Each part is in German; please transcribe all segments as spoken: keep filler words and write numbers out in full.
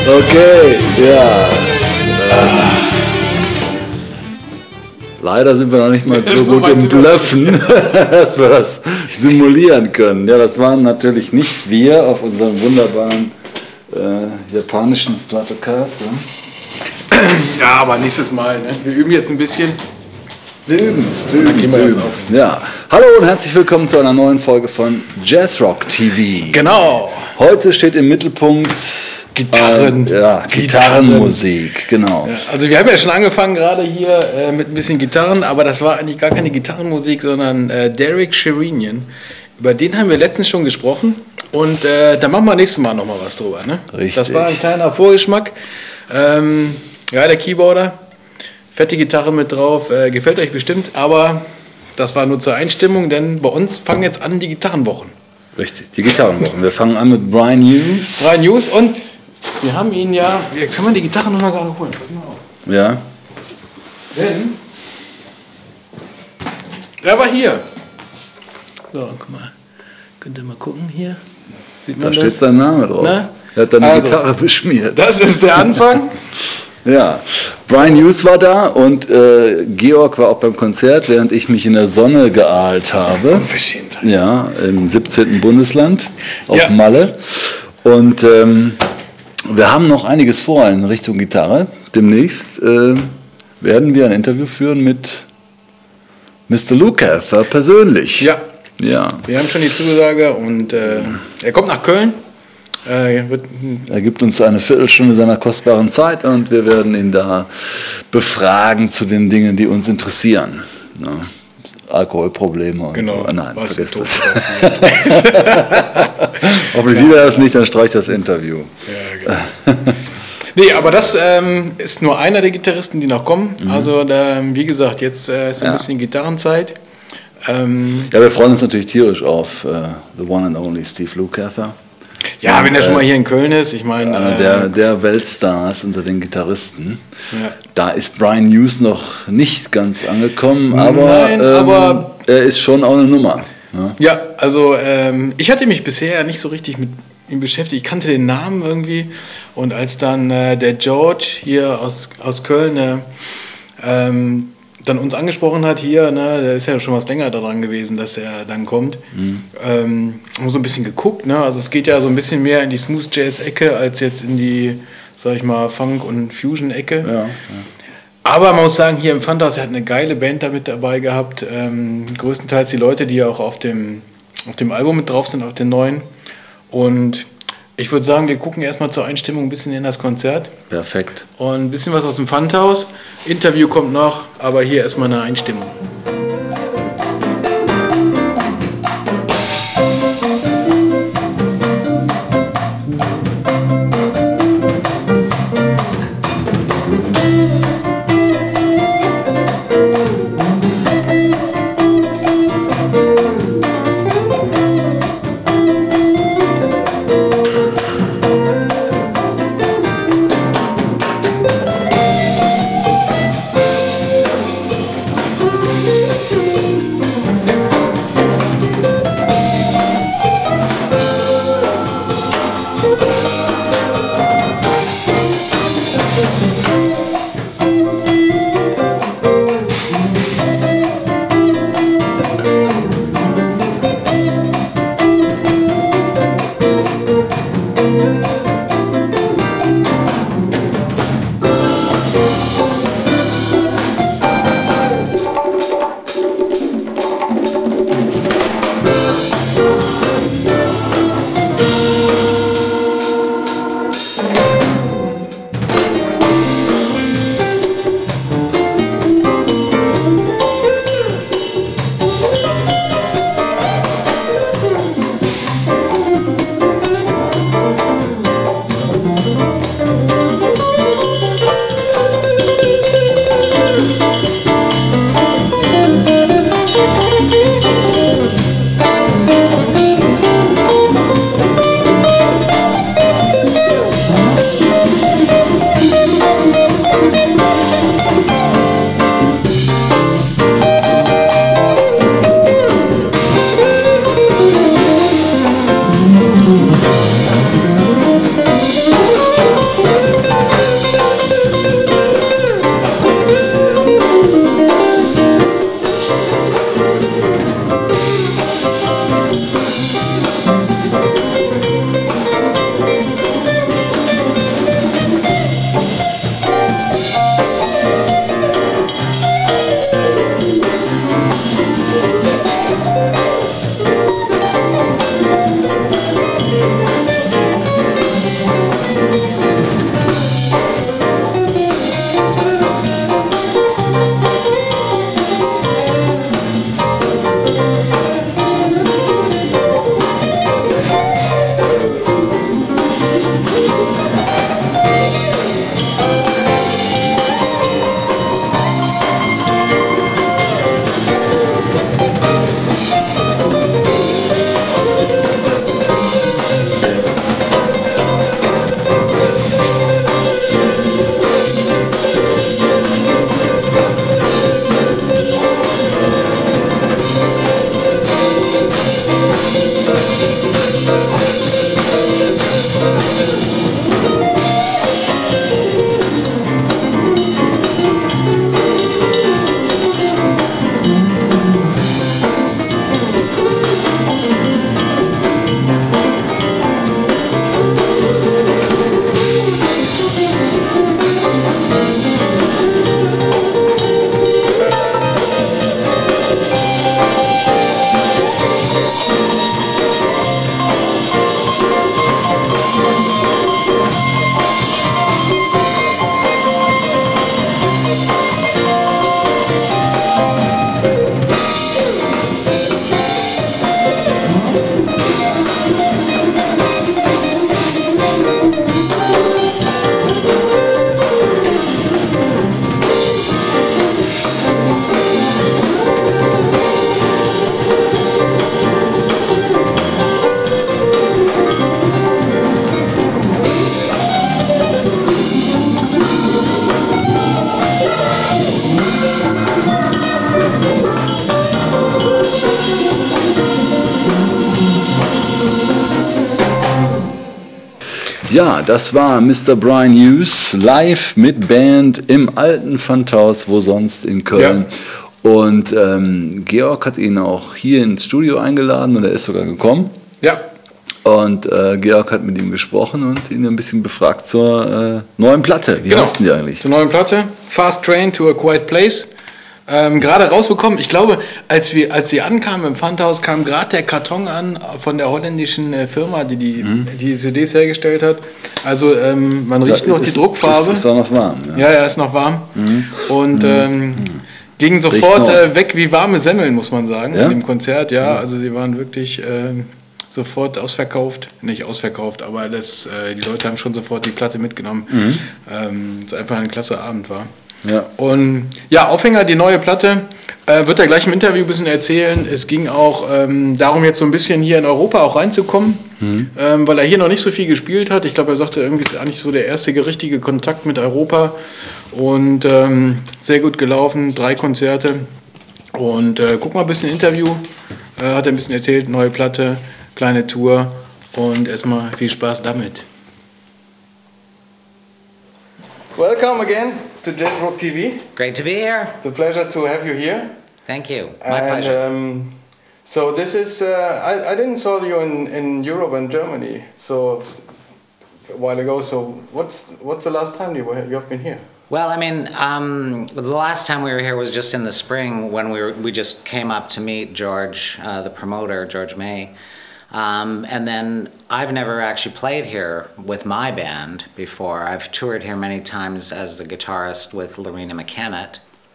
Okay, ja. Ähm, leider sind wir noch nicht mal so gut im Bluffen, dass wir das simulieren können. Ja, das waren natürlich nicht wir auf unserem wunderbaren äh, japanischen Stratocaster. Ja, aber nächstes Mal. Ne? Wir üben jetzt ein bisschen. Wir üben. Wir üben, wir üben. Ja. Hallo und herzlich willkommen zu einer neuen Folge von Jazzrock T V. Genau. Heute steht im Mittelpunkt Gitarren. Äh, ja, Gitarrenmusik, genau. Ja, also wir haben ja schon angefangen gerade hier äh, mit ein bisschen Gitarren, aber das war eigentlich gar keine Gitarrenmusik, sondern äh, Derek Sherinian. Über den haben wir letztens schon gesprochen und äh, da machen wir nächstes Mal nochmal was drüber. Ne? Richtig. Das war ein kleiner Vorgeschmack. Ähm, ja, der Keyboarder, fette Gitarre mit drauf, äh, gefällt euch bestimmt, aber das war nur zur Einstimmung, denn bei uns fangen jetzt an die Gitarrenwochen. Richtig, die Gitarrenwochen. Wir fangen an mit Brian Hughes. Brian Hughes und wir haben ihn ja, jetzt kann man die Gitarre nochmal gerade holen, pass mal auf. Ja. Denn er war hier. So, guck mal, könnt ihr mal gucken hier. Sieht man Da das? steht sein Name drauf. Na? Er hat dann die Also, Gitarre beschmiert. Das ist der Anfang. Ja, Brian Hughes war da und äh, Georg war auch beim Konzert, während ich mich in der Sonne geahlt habe. Unverschämt. Ja, im siebzehnten Bundesland auf Ja. Malle. Und ähm, wir haben noch einiges vor in Richtung Gitarre. Demnächst äh, werden wir ein Interview führen mit Mister Lukather persönlich. Ja, Ja. wir haben schon die Zusage und äh, er kommt nach Köln. Äh, wird, Er gibt uns eine Viertelstunde seiner kostbaren Zeit und wir werden ihn da befragen zu den Dingen, die uns interessieren. Ja, Alkoholprobleme und genau, so. Nein, was vergiss tot das. passiert. Hoffentlich sieht er das nicht, dann streicht das Interview. Ja, genau. Nee, aber das ähm, ist nur einer der Gitarristen, die noch kommen. Mhm. Also da, wie gesagt, jetzt äh, ist ein Ja. bisschen Gitarrenzeit. Ähm, Ja, wir freuen uns natürlich tierisch auf äh, The One and Only Steve Lukather. ja, Und, wenn er schon äh, mal hier in Köln ist, ich meine... Einer Äh, der, der Weltstars unter den Gitarristen. Ja. Da ist Brian Hughes noch nicht ganz angekommen, aber, Nein, ähm, aber- er ist schon auch eine Nummer. Ja. Ja, also ähm, ich hatte mich bisher nicht so richtig mit ihm beschäftigt. Ich kannte den Namen irgendwie. Und als dann äh, der George hier aus, aus Köln äh, ähm, dann uns angesprochen hat hier, ne, der ist ja schon was länger daran gewesen, dass er dann kommt, mhm. ähm, haben so ein bisschen geguckt. Ne? Also es geht ja so ein bisschen mehr in die Smooth Jazz-Ecke als jetzt in die, sag ich mal, Funk- und Fusion-Ecke. Ja, ja. Aber man muss sagen, hier im Pfandhaus, er hat eine geile Band da mit dabei gehabt. Ähm, größtenteils die Leute, die ja auch auf dem, auf dem Album mit drauf sind, auf den neuen. Und ich würde sagen, wir gucken erstmal zur Einstimmung ein bisschen in das Konzert. Perfekt. Und ein bisschen was aus dem Pfandhaus. Interview kommt noch, aber hier erstmal eine Einstimmung. Ja, das war Mister Brian Hughes live mit Band im alten Pfandhaus, wo sonst in Köln. Ja. Und ähm, Georg hat ihn auch hier ins Studio eingeladen und er ist sogar gekommen. Ja. Und äh, Georg hat mit ihm gesprochen und ihn ein bisschen befragt zur äh, neuen Platte. Wie genau. heißt denn die eigentlich? Zur neuen Platte, Fast Train to a Quiet Place. Ähm, gerade rausbekommen. Ich glaube, als wir, als sie ankamen im Pfandhaus, kam gerade der Karton an von der holländischen äh, Firma, die die, mhm. die C Ds hergestellt hat. Also ähm, man riecht ja, noch ist, die Druckfarbe. Ist, ist auch noch warm. Ja, ja, ja, ist noch warm. Mhm. Und ähm, mhm. ging sofort äh, weg wie warme Semmeln, muss man sagen, ja? in dem Konzert. Ja, mhm. also sie waren wirklich äh, sofort ausverkauft. Nicht ausverkauft, aber das, äh, die Leute haben schon sofort die Platte mitgenommen. Mhm. Ähm, so einfach ein klasse Abend war. Ja. Und ja, Aufhänger, die neue Platte, äh, wird er gleich im Interview ein bisschen erzählen. Es ging auch ähm, darum, jetzt so ein bisschen hier in Europa auch reinzukommen, mhm. ähm, weil er hier noch nicht so viel gespielt hat. Ich glaube, er sagte, irgendwie ist eigentlich so der erste richtige Kontakt mit Europa und ähm, sehr gut gelaufen, drei Konzerte. Und äh, guck mal, ein bisschen Interview, äh, hat er ein bisschen erzählt, neue Platte, kleine Tour und erstmal viel Spaß damit. Welcome again to Jazzrock T V. Great to be here. It's a pleasure to have you here. Thank you. My and, pleasure. Um, so this is, uh, I, I didn't saw you in, in Europe and Germany so a while ago. So what's what's the last time you were you have been here? Well, I mean, um, the last time we were here was just in the spring when we were, we just came up to meet George, uh, the promoter, George May. Um, and then I've never actually played here with my band before. I've toured here many times as the guitarist with Lorena McKennitt,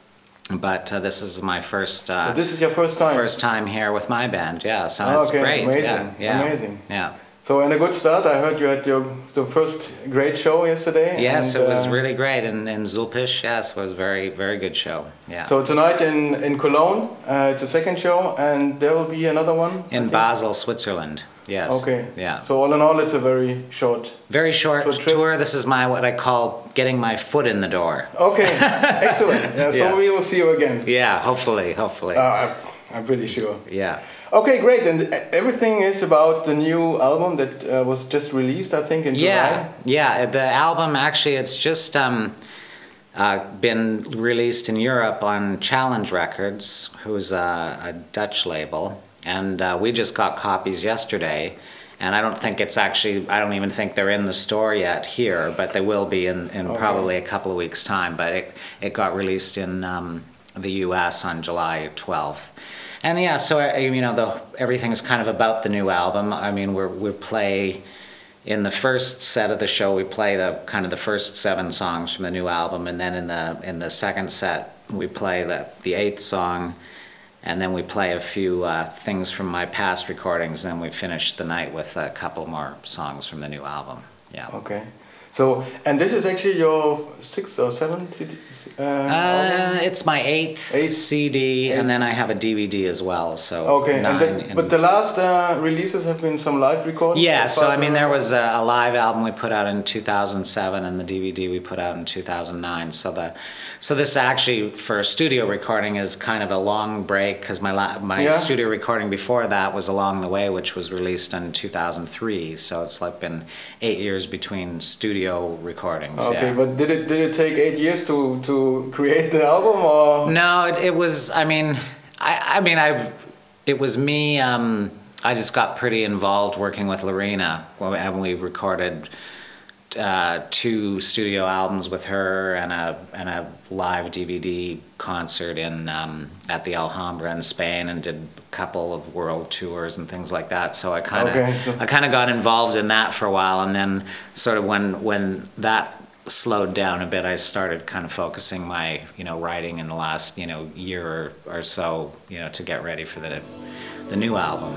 but uh, this is my first. Uh, but this is your first time. First time here with my band, yeah. So oh, it's okay. great. Amazing, yeah, yeah. amazing. Yeah. So and a good start. I heard you had your the first great show yesterday. Yes, and, it was uh, really great in in Zulpisch. Yes, it was a very very good show. Yeah. So tonight in in Cologne, uh, it's a second show, and there will be another one in Basel, Switzerland. Yes. Okay. Yeah. So all in all, it's a very short. Very short short tour. This is my what I call getting my foot in the door. Okay. Excellent. Yeah, so yeah. we will see you again. Yeah. Hopefully. Hopefully. Uh, I'm, I'm pretty sure. Yeah. Okay, great. And everything is about the new album that uh, was just released, I think, in July. Yeah, yeah. The album actually, it's just um, uh, been released in Europe on Challenge Records, who's a, a Dutch label, and uh, we just got copies yesterday. And I don't think it's actually, I don't even think they're in the store yet here, but they will be in, in okay. probably a couple of weeks' time. But it, it got released in um, the U S on July twelfth. And yeah, so you know, the everything is kind of about the new album. I mean, we're we play in the first set of the show. We play the kind of the first seven songs from the new album, and then in the in the second set we play the the eighth song, and then we play a few uh, things from my past recordings. And then we finish the night with a couple more songs from the new album. Yeah. Okay. So, and this is actually your sixth or seventh C D? Uh, uh, it's my eighth, eighth C D, eighth. And then I have a D V D as well. So okay, nine, and the, and but the last uh, releases have been some live recordings? Yeah, so I mean there was a, a live album we put out in two thousand seven and the D V D we put out in two thousand nine. So the so this actually for a studio recording is kind of a long break because my la my yeah. studio recording before that was Along the Way, which was released in two thousand three. So it's like been eight years between studio recordings. Okay, yeah. but did it did it take eight years to to create the album or? No, it, it was. I mean, I I mean I, it was me. Um, I just got pretty involved working with Lorena when we recorded uh, two studio albums with her and a and a live D V D concert in um, at the Alhambra in Spain, and did a couple of world tours and things like that. So I kind of okay. I kind of got involved in that for a while, and then sort of when when that slowed down a bit, I started kind of focusing my you know writing in the last you know year or, or so you know to get ready for the the new album.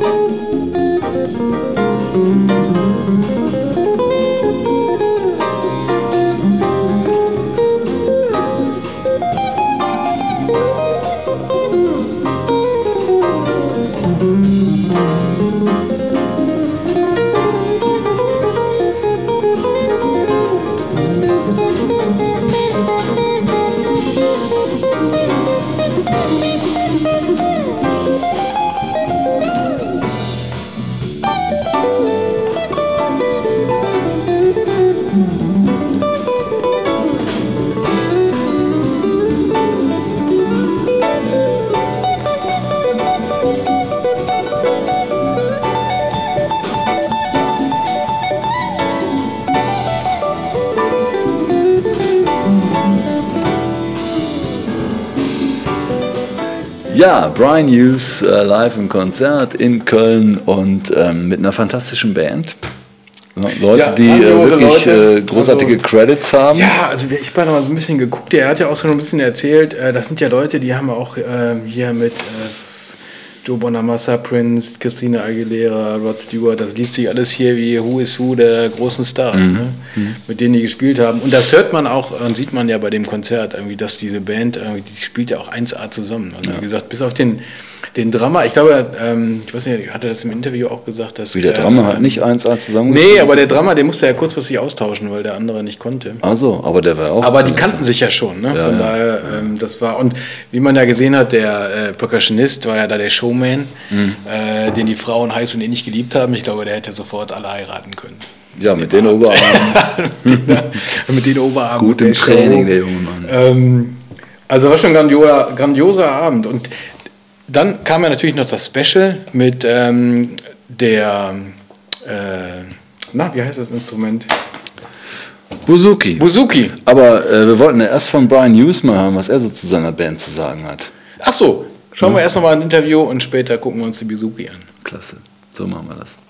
Ja, Brian Hughes äh, live im Konzert in Köln und ähm, mit einer fantastischen Band. Leute, Ja, die äh, wirklich Leute. äh, großartige Also, Credits haben. Ja, also ich habe mal so ein bisschen geguckt, er hat ja auch schon ein bisschen erzählt, äh, das sind ja Leute, die haben auch äh, hier mit äh, Joe Bonamassa, Prince, Christina Aguilera, Rod Stewart, das liest sich alles hier wie Who is Who der großen Stars, Mhm. ne? Mhm. Mit denen die gespielt haben. Und das hört man auch, und sieht man ja bei dem Konzert, irgendwie, dass diese Band, irgendwie, die spielt ja auch eins A zusammen. Also Ja. wie gesagt, bis auf den, den Drummer, ich glaube, ähm, ich weiß nicht, hat er das im Interview auch gesagt, dass Wie der er, Drummer hat ähm, nicht eins A zusammen. Nee, aber der Drummer, den musste er ja kurzfristig austauschen, weil der andere nicht konnte. Also, aber der war auch. Aber die kannten sich ja schon, ne? Ja, Von ja. daher, ähm, das war, und wie man ja gesehen hat, der äh, Percussionist war ja da der Showman, Mhm. äh, den die Frauen heiß und innig geliebt haben. Ich glaube, der hätte sofort alle heiraten können. Ja, mit den Oberarmen. Mit den Oberarmen. Gut der im Training, Show. der junge Mann. Ähm, also war schon ein grandioser, grandioser Abend. Und dann kam ja natürlich noch das Special mit ähm, der, äh, na, wie heißt das Instrument? Buzuki. Buzuki. Aber äh, wir wollten ja erst von Brian Hughes mal hören, was er so zu seiner Band zu sagen hat. Ach so, schauen wir erst noch mal ein Interview und später gucken wir uns die Buzuki an. Klasse. So machen wir das.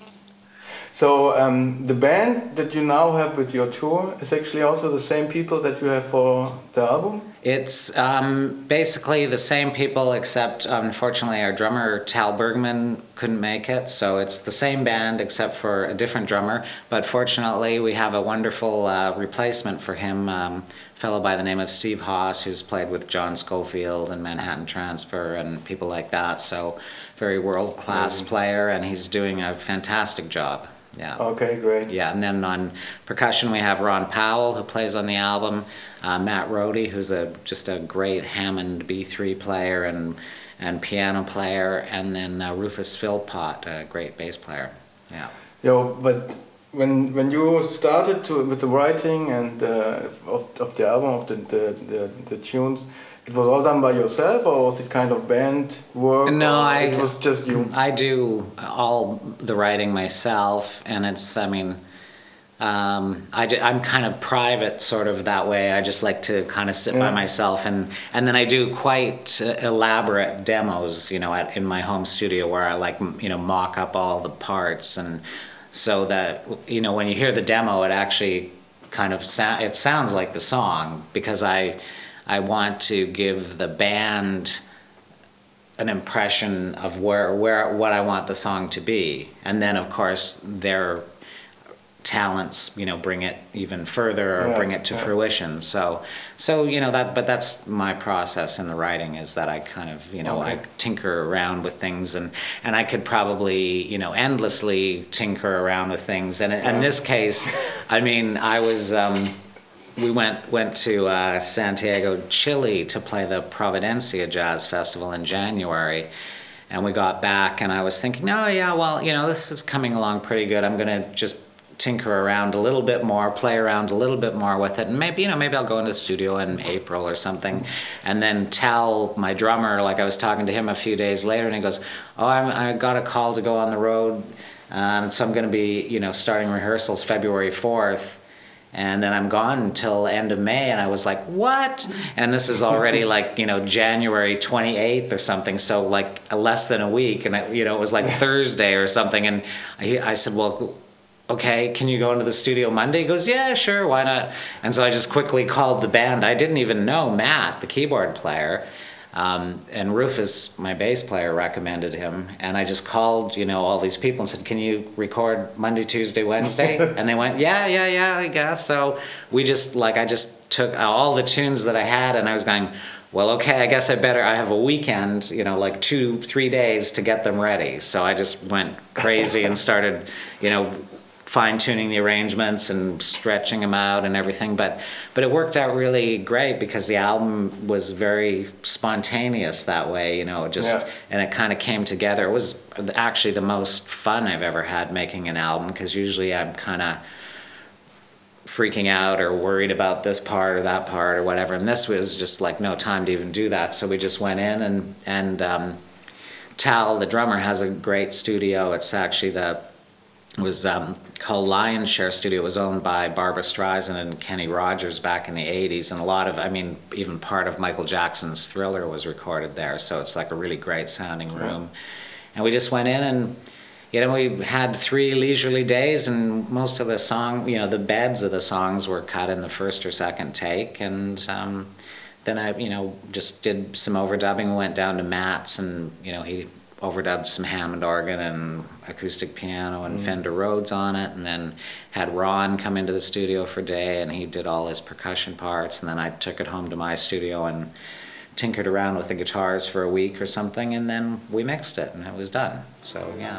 So um, the band that you now have with your tour is actually also the same people that you have for the album? It's um, basically the same people, except unfortunately our drummer Tal Bergman couldn't make it, so it's the same band except for a different drummer. But fortunately, we have a wonderful uh, replacement for him, um, a fellow by the name of Steve Haas, who's played with John Scofield and Manhattan Transfer and people like that. So, very world-class Mm. player, and he's doing a fantastic job. Yeah. Okay, great. Yeah, and then on percussion we have Ron Powell, who plays on the album, uh, Matt Rohde, who's a just a great Hammond B three player and and piano player, and then uh, Rufus Philpott, a great bass player. Yeah. Yo, but when when you started to with the writing and uh, of of the album, of the the, the the tunes, it was all done by yourself, or was it kind of band work? No, or I- It was just you. I do all the writing myself, and it's, I mean, um, I, am kind of private sort of that way. I just like to kind of sit Yeah. by myself, and, and then I do quite uh, elaborate demos, you know, at, in my home studio where I like, m- you know, mock up all the parts, and so that, you know, when you hear the demo, it actually kind of, sa- it sounds like the song, because I, I want to give the band an impression of where where what I want the song to be, and then of course their talents, you know, bring it even further or Yeah, bring it to yeah. fruition. So, so you know that, but that's my process in the writing, is that I kind of, you know, Okay. I tinker around with things, and and I could probably, you know, endlessly tinker around with things. And in, in Yeah. this case, I mean, I was. Um, we went went to uh, Santiago, Chile, to play the Providencia Jazz Festival in January, and we got back, and I was thinking, oh yeah, well, you know, this is coming along pretty good. I'm gonna just tinker around a little bit more, play around a little bit more with it, and maybe, you know, maybe I'll go into the studio in April or something, and then tell my drummer, like I was talking to him a few days later, and he goes, oh, I'm, I got a call to go on the road, and so I'm going to be, you know, starting rehearsals February fourth, and then I'm gone until end of May, and I was like, what? And this is already like, you know, January twenty-eighth or something, so like less than a week, and I, you know, it was like Thursday or something, and I, I said, well, okay, can you go into the studio Monday? He goes, yeah, sure, why not? And so I just quickly called the band. I didn't even know Matt, the keyboard player. Um, and Rufus, my bass player, recommended him, and I just called, you know, all these people and said, "Can you record Monday, Tuesday, Wednesday?" And they went, "Yeah, yeah, yeah, I guess." So we just, like, I just took all the tunes that I had, and I was going, "Well, okay, I guess I better, I have a weekend, you know, like two, three days to get them ready." So I just went crazy and started, you know, fine-tuning the arrangements and stretching them out and everything, but but it worked out really great because the album was very spontaneous that way, you know, just yeah. And it kind of came together. It was actually the most fun I've ever had making an album, because usually I'm kind of freaking out or worried about this part or that part or whatever, and this was just like no time to even do that. So we just went in, and and um, Tal, the drummer, has a great studio. It's actually the It was um, called Lion Share Studio. It was owned by Barbra Streisand and Kenny Rogers back in the eighties, and a lot of, I mean, even part of Michael Jackson's Thriller was recorded there, so it's like a really great sounding room. Yeah. And we just went in, and, you know, we had three leisurely days, and most of the song, you know, the beds of the songs were cut in the first or second take, and um, then I, you know, just did some overdubbing. We went down to Matt's, and, you know, he overdubbed some Hammond organ and acoustic piano and mm. Fender Rhodes on it, and then had Ron come into the studio for a day, and he did all his percussion parts, and then I took it home to my studio and tinkered around with the guitars for a week or something, and then we mixed it, and it was done. So, yeah.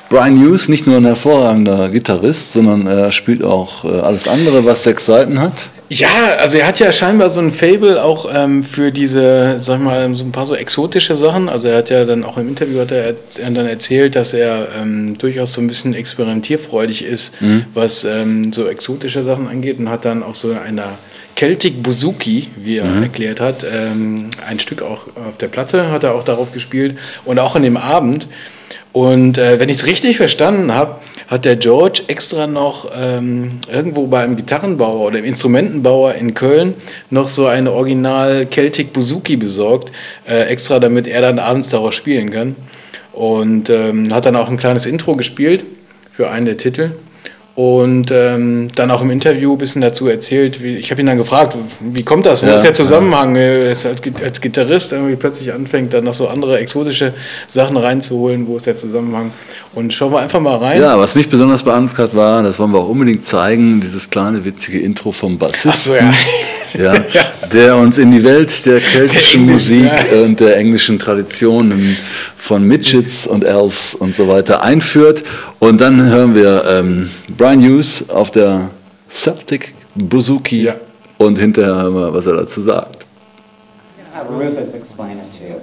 Brian Hughes, nicht nur ein hervorragender Gitarrist, sondern er spielt auch äh, alles andere, was sechs Seiten hat. Ja, also er hat ja scheinbar so ein Faible auch ähm, für diese, sag ich mal, so ein paar so exotische Sachen. Also er hat ja dann auch im Interview hat er, er dann erzählt, dass er ähm, durchaus so ein bisschen experimentierfreudig ist, mhm. was ähm, so exotische Sachen angeht, und hat dann auch so eine Celtic Bouzouki, wie er mhm. erklärt hat, ähm, ein Stück auch auf der Platte hat er auch darauf gespielt und auch an dem Abend. Und äh, wenn ich es richtig verstanden habe, hat der George extra noch ähm, irgendwo beim Gitarrenbauer oder im Instrumentenbauer in Köln noch so eine Original Celtic Bouzouki besorgt, äh, extra damit er dann abends darauf spielen kann. Und ähm, hat dann auch ein kleines Intro gespielt für einen der Titel. Und ähm, dann auch im Interview ein bisschen dazu erzählt, wie, ich habe ihn dann gefragt, wie kommt das, wo ja, ist der Zusammenhang, ja. als, als Gitarrist irgendwie plötzlich anfängt, dann noch so andere exotische Sachen reinzuholen, wo ist der Zusammenhang? Und schauen wir einfach mal rein. Ja, was mich besonders beeindruckt hat, war, das wollen wir auch unbedingt zeigen, dieses kleine witzige Intro vom Bassisten, so, ja. Ja, ja. der uns in die Welt der keltischen der Musik ja. und der englischen Traditionen von Midgets und Elves und so weiter einführt. Und dann hören wir ähm, Brian Hughes auf der Celtic Bouzouki ja. und hinterher hören wir, was er dazu sagt. Have Rufus explain it to you.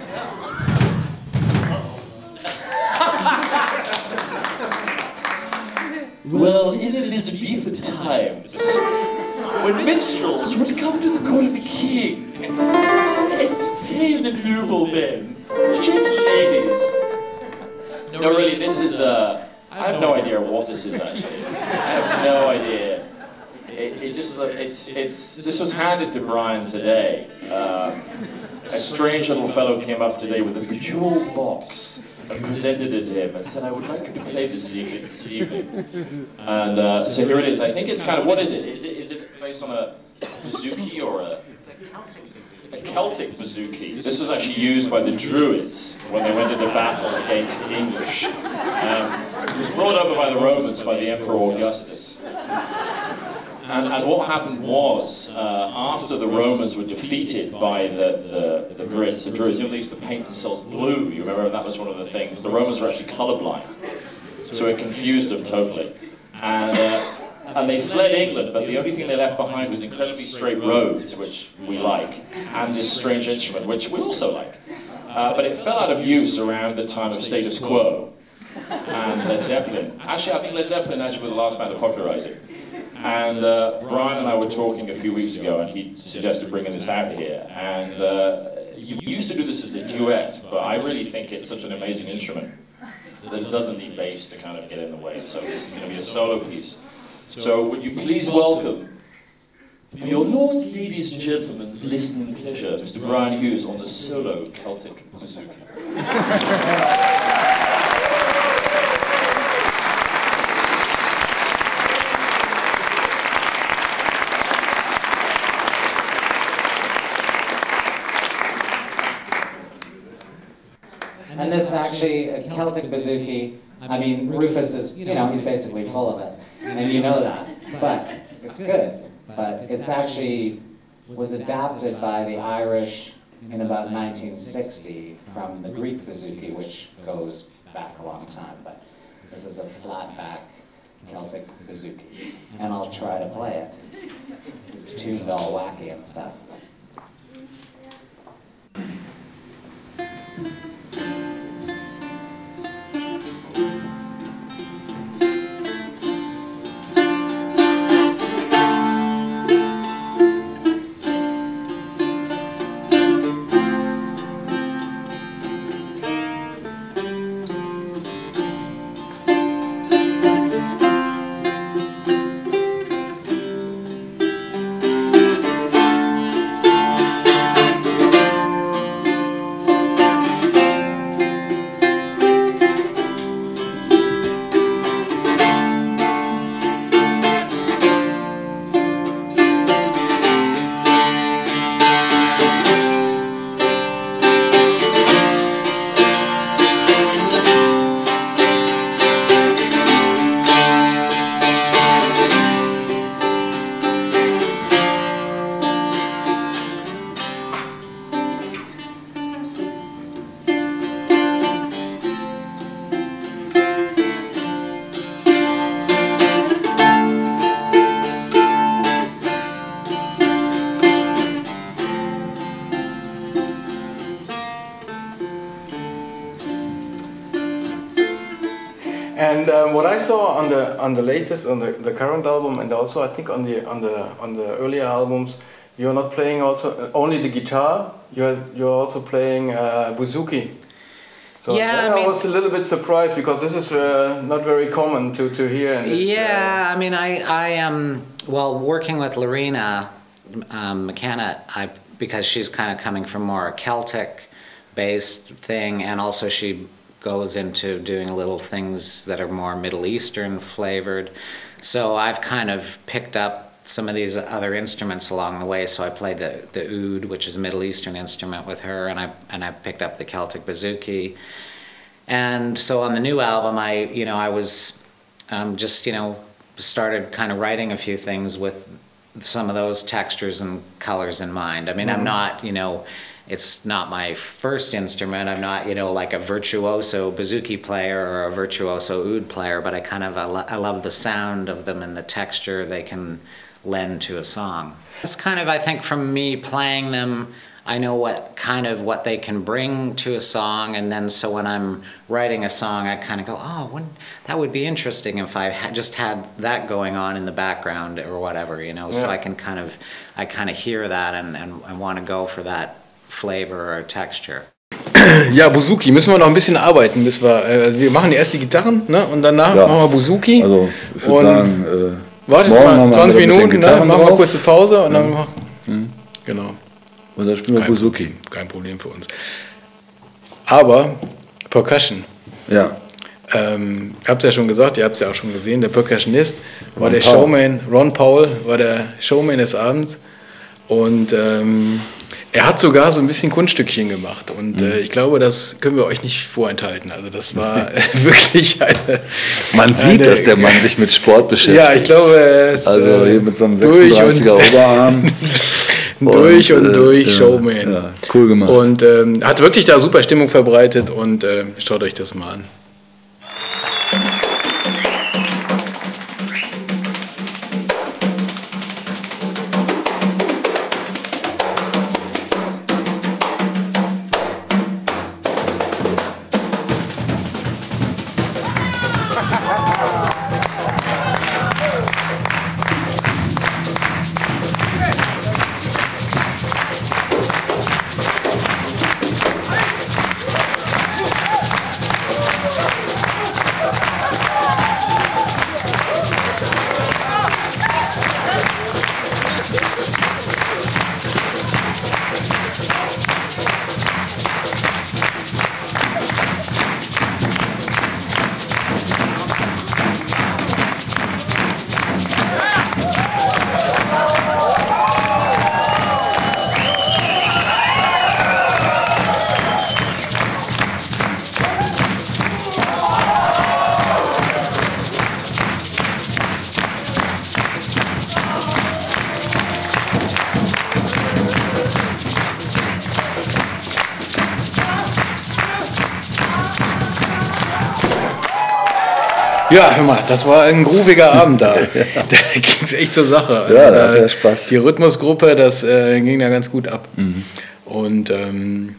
Well, in Elizabethan times, when minstrels would come to the court of the king, entertain the noblemen, gentle ladies. No, really, this is, uh, I have no idea what this is actually. I have no idea. It, it just, it's, it's, this was handed to Brian today. Uh, a strange little fellow came up today with a bejeweled box and presented it to him and said, I would like you to play this evening. This evening. And uh, so here it is. I think it's kind of, what is it? Is it, is it based on a bouzouki or a... A Celtic bouzouki. This was actually used by the Druids when they went into battle against the English. Um, it was brought over by the Romans by the Emperor Augustus. And, and what happened was, uh, after the Romans were defeated by the, the, the Brits, the Druids, you know, they used to paint themselves blue, you remember, that was one of the things. The Romans were actually colorblind, so it confused them totally. And, uh, and they fled England, but the only thing they left behind was incredibly straight roads, which we like, and this strange instrument, which we also like. Uh, but it fell out of use around the time of Status Quo and Led Zeppelin. Actually, I think Led Zeppelin actually was the last band to popularize it. And uh, Brian and I were talking a few weeks ago, and he suggested bringing this out here. And uh, you used to do this as a duet, but I really think it's such an amazing instrument that it doesn't need bass to kind of get in the way. So this is going to be a solo piece. So would you please welcome, for your lords, ladies and gentlemen's listening pleasure, Mister Brian Hughes on the solo Celtic bouzouki. And this actually, a Celtic bouzouki, I mean, Rufus is, you know, he's basically full of it. And you know that. But it's good. But it's actually was adapted by the Irish in about nineteen sixty from the Greek bouzouki, which goes back a long time. But this is a flat-back Celtic bouzouki. And I'll try to play it. This is tuned all wacky and stuff. And um, what I saw on the on the latest, on the, the current album, and also I think on the on the on the earlier albums, you're not playing also only the guitar. You're you're also playing uh, bouzouki. So Yeah, then I I, mean- was a little bit surprised because this is uh, not very common to, to hear. In this, Yeah, I mean, I, I am, well, working with Lorena um, McKenna, I, because she's kind of coming from more a Celtic-based thing, and also she goes into doing little things that are more Middle Eastern flavored. So I've kind of picked up some of these other instruments along the way. So I played the, the oud, which is a Middle Eastern instrument with her, and I, and I picked up the Celtic bouzouki. And so on the new album, I, you know, I was um, just, you know, started kind of writing a few things with some of those textures and colors in mind. I mean, I'm not, you know, it's not my first instrument. I'm not, you know, like a virtuoso bouzouki player or a virtuoso oud player, but I kind of, I, lo- I love the sound of them and the texture they can lend to a song. It's kind of, I think, from me playing them, I know what kind of what they can bring to a song, and then so when I'm writing a song, I kind of go, oh, wouldn't, that would be interesting if I had just had that going on in the background or whatever, you know. So Yeah. I can kind of, I kind of hear that and, and, and want to go for that flavor or texture. Ja, Bouzouki, müssen wir noch ein bisschen arbeiten, bis wir, äh, wir machen erst die Gitarren, ne, und danach Ja. machen wir Bouzouki. Also, ich würde Und sagen, äh, Wartet morgen mal, machen wir zwanzig mit den Minuten, ne, Gitarren machen wir drauf. kurze Pause und dann machen Mhm. Genau. Und dann spielen wir Kein, Bouzouki. kein Problem für uns. Aber Percussion. Ja. Ähm, ihr habt es ja schon gesagt, ihr habt es ja auch schon gesehen, der Percussionist war Ron der Powell. Showman, Ron Powell war der Showman des Abends und ähm, er hat sogar so ein bisschen Kunststückchen gemacht und äh, ich glaube, das können wir euch nicht vorenthalten. Also das war äh, wirklich eine... Man sieht, eine, dass der Mann sich mit Sport beschäftigt. Ja, ich glaube, er ist Also äh, hier mit so einem durch sechsunddreißiger und- Oberarm. durch und, äh, durch ja, Showman. Ja, cool gemacht. Und ähm, hat wirklich da super Stimmung verbreitet und äh, schaut euch das mal an. Ja, hör mal, das war ein grooviger Abend da. Da ging es echt zur Sache. Ja, da Also, hatte er Spaß. Die Rhythmusgruppe, das äh, ging da ganz gut ab. Mhm. Und ähm,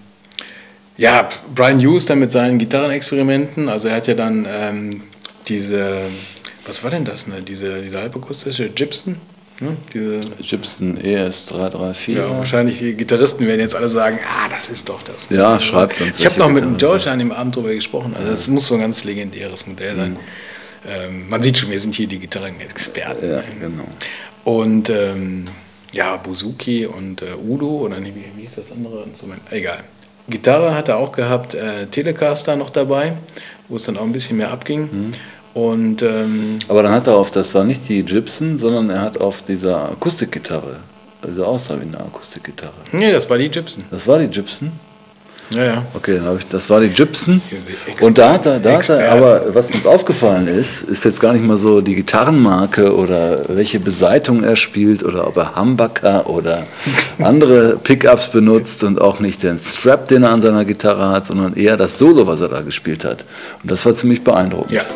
ja, Brian Hughes dann mit seinen Gitarrenexperimenten, also er hat ja dann ähm, diese, was war denn das, ne? diese, diese halbakustische Gibson, ne? diese, Gibson E S drei drei vier. ja, wahrscheinlich die Gitarristen werden jetzt alle sagen, ah, das ist doch das. Ja, schreibt uns. Ich habe welche noch mit dem Gitarren George an dem Abend drüber gesprochen, also das muss so ein ganz legendäres Modell sein. Ähm, man sieht schon, wir sind hier die Gitarrenexperten. sind. Ja, genau. Und ähm, ja, Bouzouki und äh, Udo, oder nee, wie, wie hieß das andere Instrument? Egal. Gitarre hat er auch gehabt, äh, Telecaster noch dabei, wo es dann auch ein bisschen mehr abging. Mhm. Und ähm, Aber dann hat er auf, das war nicht die Gibson, sondern er hat auf dieser Akustikgitarre, also aussah wie eine Akustikgitarre. nee, das war die Gibson. Das war die Gibson? Ja, ja. Okay, dann habe ich, das war die Gibson. Ex- Und da hat er, da hat Experte. er, aber was uns aufgefallen ist, ist jetzt gar nicht mal so die Gitarrenmarke oder welche Beseitung er spielt oder ob er Humbucker oder andere Pickups benutzt und auch nicht den Strap, den er an seiner Gitarre hat, sondern eher das Solo, was er da gespielt hat. Und das war ziemlich beeindruckend. Ja.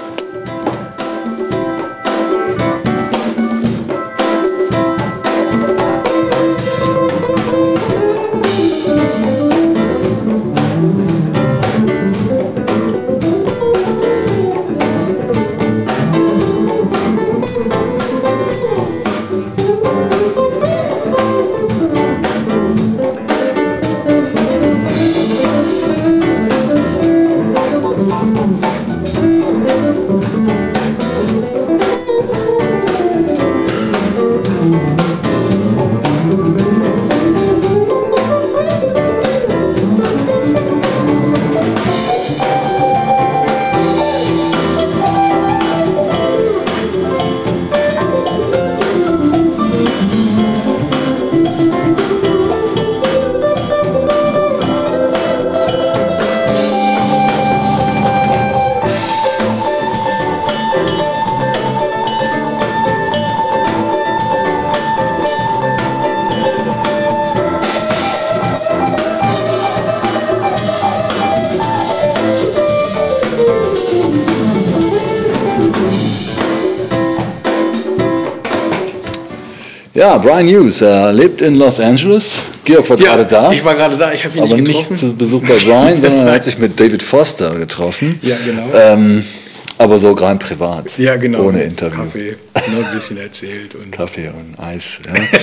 Ja, Brian Hughes, er lebt in Los Angeles. Georg war gerade da. Ich war gerade da, ich habe ihn aber nicht getroffen. nicht zu Besuch bei Brian, sondern er hat sich mit David Foster getroffen. Ja, genau. Ähm, aber so rein privat. Ja, genau. Ohne Interview. Kaffee, nur ein bisschen erzählt. Und Kaffee und Eis.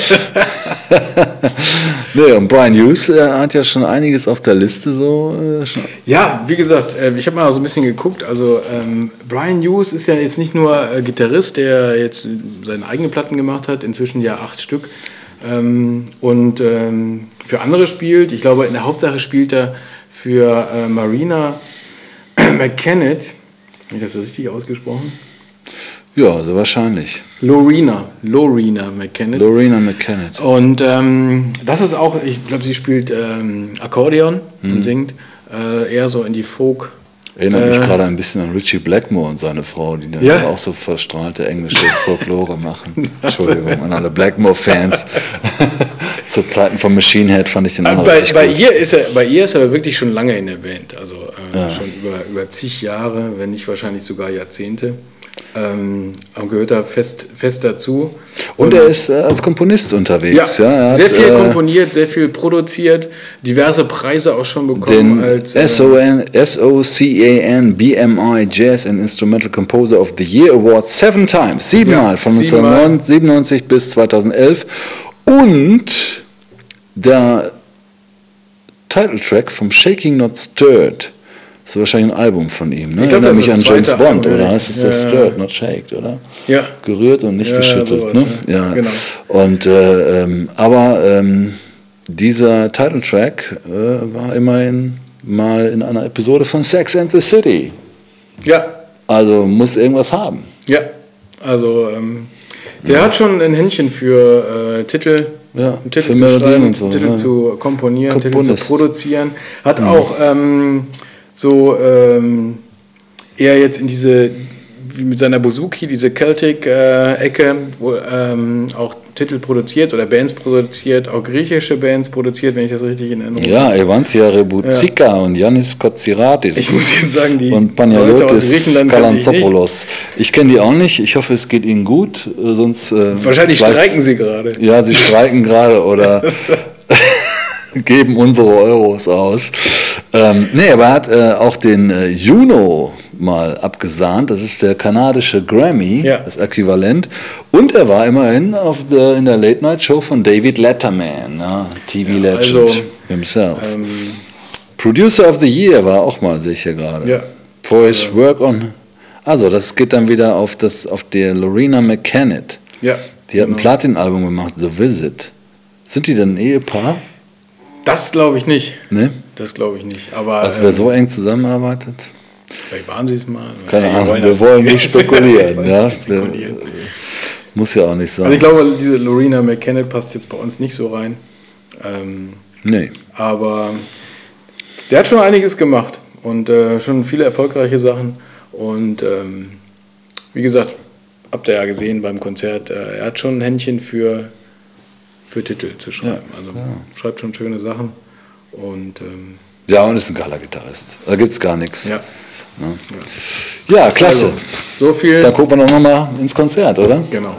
Ja. Nee, und Brian Hughes äh, hat ja schon einiges auf der Liste. So, äh, schon. Ja, wie gesagt, äh, ich habe mal so ein bisschen geguckt. Also ähm, Brian Hughes ist ja jetzt nicht nur äh, Gitarrist, der jetzt seine eigenen Platten gemacht hat, inzwischen ja acht Stück. Ähm, und ähm, für andere spielt. Ich glaube, in der Hauptsache spielt er für äh, Marina McKennett. Habe ich das so richtig ausgesprochen? Ja, also wahrscheinlich. Lorena, Lorena McKennett. Lorena McKennett. Und ähm, das ist auch, ich glaube, sie spielt ähm, Akkordeon mhm. und singt äh, eher so in die Folk. Erinnert äh, mich gerade ein bisschen an Richie Blackmore und seine Frau, die dann ja. auch so verstrahlte englische Folklore machen. Entschuldigung an alle Blackmore-Fans. Zu Zeiten von Machine Head fand ich den auch bei, richtig bei gut. Ihr ist er, bei ihr ist er wirklich schon lange in der Band, also äh, Ja. schon über, über zig Jahre, wenn nicht wahrscheinlich sogar Jahrzehnte. Ähm, und gehört da fest, fest dazu. Und er ist äh, als Komponist unterwegs. Ja, er sehr hat, viel äh, komponiert, sehr viel produziert, diverse Preise auch schon bekommen. den als, äh, S O N S O C A N B M I Jazz and Instrumental Composer of the Year Award seven times, siebenmal Ja, von siebenmal. neunzehnhundertsiebenundneunzig bis zweitausendelf. Und der Titeltrack vom Shaking Not Stirred. Das ist wahrscheinlich ein Album von ihm, ne? Ich glaub, Erinnert das mich ist an das James zweite Bond, Album, oder ja. heißt es das Ja. Stirred, not shaked, oder? Ja. Gerührt und nicht Ja, geschüttelt, sowas, ne? ja. Ja. Genau. Und äh, ähm, aber ähm, dieser Titeltrack äh, war immerhin mal in einer Episode von Sex and the City. Ja, Also muss irgendwas haben. ja. Also ähm, der hat schon ein Händchen für äh, Titel, Ja, Titel für zu Melodien schreiben, und so, Titel ja. zu komponieren, Titel Komponist. zu produzieren. Hat auch ähm, so ähm, eher jetzt in diese, wie mit seiner Bouzouki, diese Celtic-Ecke, wo ähm, auch Titel produziert oder Bands produziert, auch griechische Bands produziert, wenn ich das richtig in Erinnerung Ja, Evanthia Reboutsika und Yannis Kotsiratis. Ich muss jetzt sagen, die und Leute aus Panagiotis Griechenland kannte ich nicht. Kalantzopoulos. Ich kenne die auch nicht. Ich hoffe, es geht ihnen gut. äh, Sonst, äh, Wahrscheinlich vielleicht- streiken sie gerade. Ja, sie streiken gerade oder geben unsere Euros aus. Ähm, nee, aber er hat äh, auch den äh, Juno mal abgesahnt. Das ist der kanadische Grammy, Ja. das Äquivalent. Und er war immerhin auf der, in der Late-Night-Show von David Letterman, ja, T V-Legend also, himself. Ähm, Producer of the Year war auch mal, sehe ich hier gerade. Ja. For his work on... Also, das geht dann wieder auf, das, auf der Lorena McKennett. ja, Die hat ein genau. Platin-Album gemacht, The Visit. Sind die denn ein Ehepaar? Das glaube ich nicht. Ne? Das glaube ich nicht. Aber Also wer ähm, so eng zusammenarbeitet? vielleicht waren sie es mal. Keine Wir Ahnung, wollen wir das wollen nicht spekulieren. Ja? spekulieren. Muss ja auch nicht sein. Also ich glaube, diese Lorena McKennett passt jetzt bei uns nicht so rein. Ähm, nee. aber der hat schon einiges gemacht und äh, schon viele erfolgreiche Sachen. Und ähm, wie gesagt, habt ihr ja gesehen beim Konzert, äh, er hat schon ein Händchen für, für Titel zu schreiben. Ja, also ja. schreibt schon schöne Sachen. Und ähm, Ja, und ist ein geiler Gitarrist. Da gibt es gar nichts. ja. Ja, klasse. Also, so viel. Dann gucken wir doch nochmal ins Konzert, oder? Genau.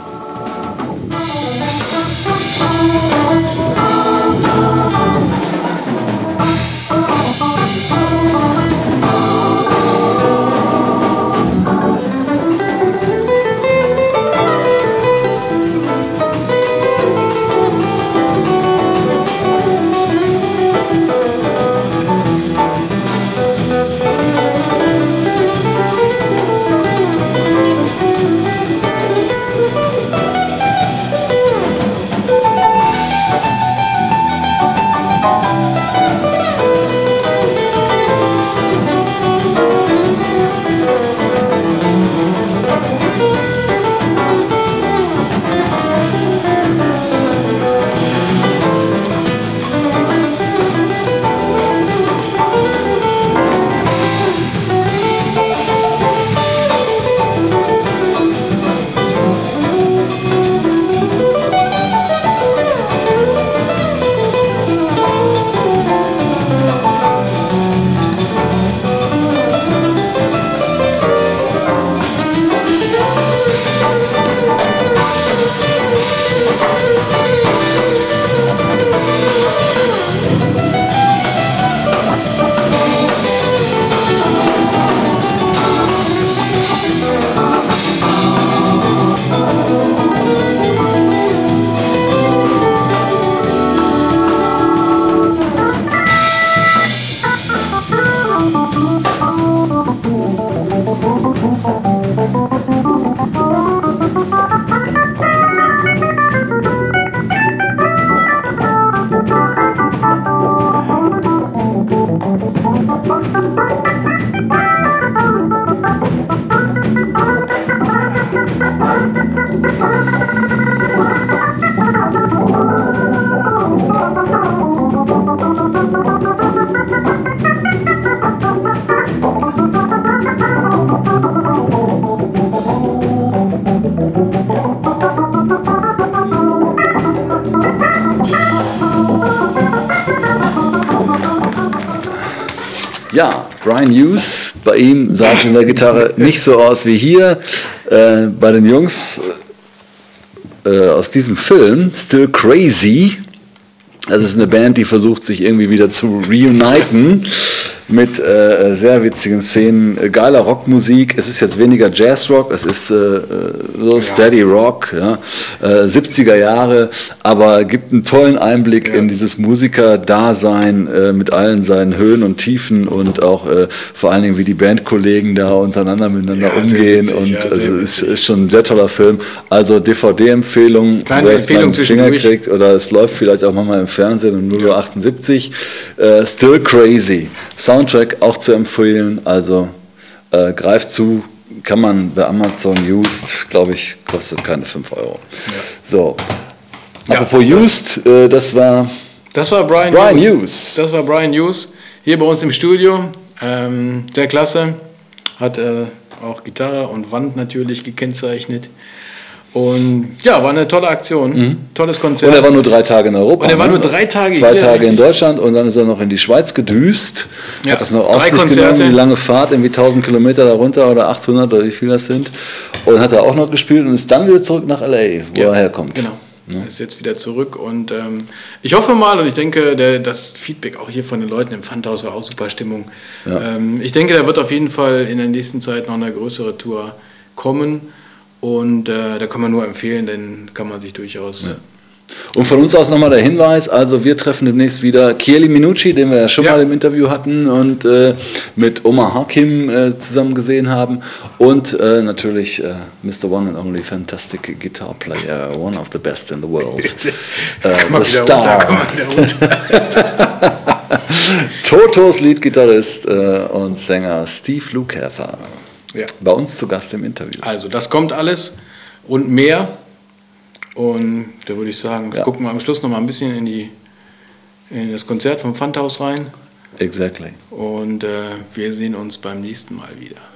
Ja, Brian Hughes, bei ihm sah es in der Gitarre nicht so aus wie hier. Äh, bei den Jungs äh, aus diesem Film, Still Crazy, das ist eine Band, die versucht sich irgendwie wieder zu reuniten mit äh, sehr witzigen Szenen, äh, geiler Rockmusik. Es ist jetzt weniger Jazzrock, es ist äh, so Steady Rock, ja, äh, siebziger Jahre, aber gibt einen tollen Einblick ja. in dieses Musiker-Dasein äh, mit allen seinen Höhen und Tiefen und auch äh, vor allen Dingen, wie die Bandkollegen da untereinander miteinander ja, umgehen. Witzig, und ja, also ist, ist schon ein sehr toller Film. Also D V D-Empfehlung, wer es mal im Finger kriegt oder es läuft vielleicht auch mal im Fernsehen um null Uhr achtundsiebzig. Äh, Still Crazy. Soundtrack auch zu empfehlen, also äh, greift zu, kann man bei Amazon used, glaube ich, kostet keine fünf Euro. Ja. So, ja, apropos das, used, äh, das war, das war Brian, Brian Hughes. Hughes. Das war Brian Hughes, hier bei uns im Studio, ähm, der Klasse, hat äh, auch Gitarre und Wand natürlich gekennzeichnet. Und ja, war eine tolle Aktion, mhm. tolles Konzert. Und er war nur drei Tage in Europa. Und er war ne? nur drei Tage Zwei hier. Zwei Tage richtig. in Deutschland und dann ist er noch in die Schweiz gedüst. Ja. Hat das noch auf drei sich Konzerte. genommen, die lange Fahrt, irgendwie tausend Kilometer darunter oder achthundert oder wie viel das sind. Und hat er auch noch gespielt und ist dann wieder zurück nach L A, wo ja, er herkommt. Genau. Er ist jetzt wieder zurück und ähm, ich hoffe mal und ich denke, der, das Feedback auch hier von den Leuten im Pfandhaus war auch super Stimmung. Ja. Ähm, ich denke, da wird auf jeden Fall in der nächsten Zeit noch eine größere Tour kommen. Und äh, da kann man nur empfehlen, denn kann man sich durchaus... Ja. Und von uns aus nochmal der Hinweis, also wir treffen demnächst wieder Chieli Minucci, den wir ja schon ja. mal im Interview hatten und äh, mit Omar Hakim äh, zusammen gesehen haben und äh, natürlich äh, Mister One and Only Fantastic Guitar Player, one of the best in the world, äh, the Star. Runter, Totos Leadgitarrist äh, und Sänger Steve Lukather. Ja. Bei uns zu Gast im Interview. Also das kommt alles und mehr. Und da würde ich sagen, ja. gucken wir am Schluss noch mal ein bisschen in, die, in das Konzert vom Pfandhaus rein. Exactly. Und äh, wir sehen uns beim nächsten Mal wieder.